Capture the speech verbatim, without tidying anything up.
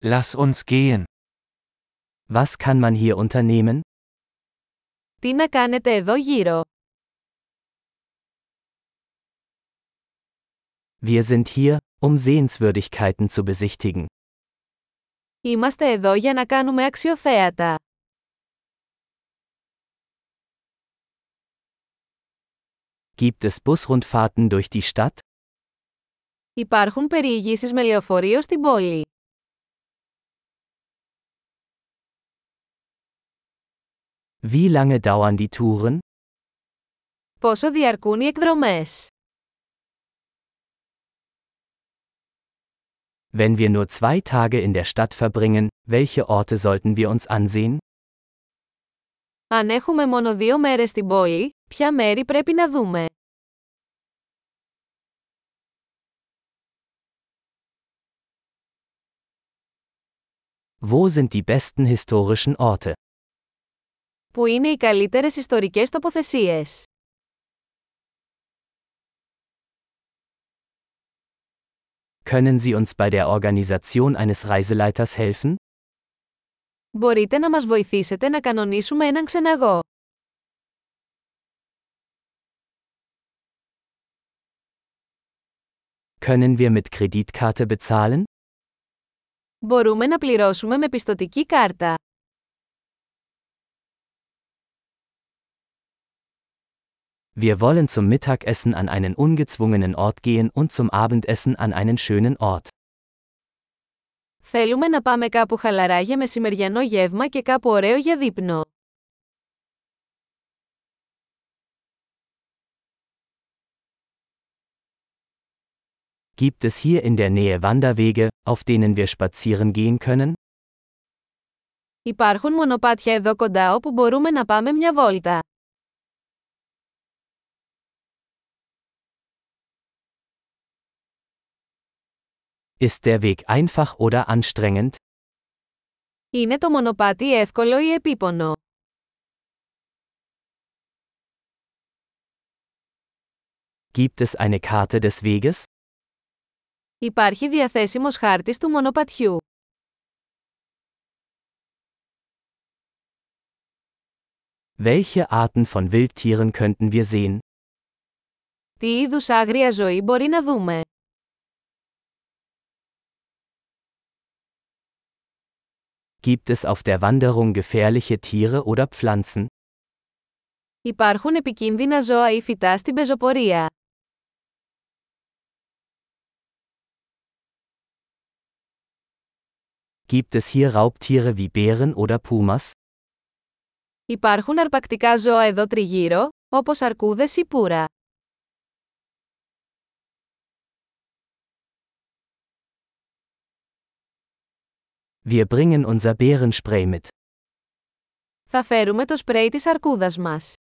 Lass uns gehen. Was kann man hier unternehmen? Τι να κάνετε εδώ γύρω? Wir sind hier, um Sehenswürdigkeiten zu besichtigen. Είμαστε εδώ για να κάνουμε αξιοθέατα. Gibt es Busrundfahrten durch die Stadt? Υπάρχουν περιηγήσεις με λεωφορείο στην πόλη. Wie lange dauern die Touren? Πόσο διαρκούν οι εκδρομές? Wenn wir nur zwei Tage in der Stadt verbringen, welche Orte sollten wir uns ansehen? Αν έχουμε μόνο δύο μέρες στην πόλη, ποια μέρη πρέπει να δούμε? Wo sind die besten historischen Orte? Πού είναι οι καλύτερες ιστορικές τοποθεσίες? Können Sie uns bei der Organisation eines Reiseleiters helfen? Μπορείτε να μας βοηθήσετε να κανονίσουμε έναν ξεναγό. Können wir mit Kreditkarte bezahlen? Μπορούμε να πληρώσουμε με πιστωτική κάρτα. Wir wollen zum Mittagessen an einen ungezwungenen Ort gehen und zum Abendessen an einen schönen Ort. Θέλουμε να πάμε κάπου χαλαρά για μεσημεριανό γεύμα και κάπου ωραίο για δείπνο. Gibt es hier in der Nähe Wanderwege, auf denen wir spazieren gehen können? Υπάρχουν μονοπάτια εδώ κοντά όπου μπορούμε να πάμε μια βόλτα. Ist der Weg einfach oder anstrengend? Είναι το μονοπάτι εύκολο ή επίπονο? Gibt es eine Karte des Weges? Υπάρχει διαθέσιμος χάρτης του μονοπατιού. Welche Arten von Wildtieren könnten wir sehen? Τι είδους άγρια ζωή μπορεί να δούμε? Gibt es auf der Wanderung gefährliche Tiere oder Pflanzen? Υπάρχουν επικίνδυνα ζώα ή φυτά στην πεζοπορία. Gibt es hier Raubtiere wie Bären oder Pumas? Υπάρχουν αρπακτικά ζώα εδώ τριγύρω, όπως αρκούδες ή πουρα. Wir bringen unser Bärenspray mit. Θα φέρουμε το σπρέι της αρκούδας μας.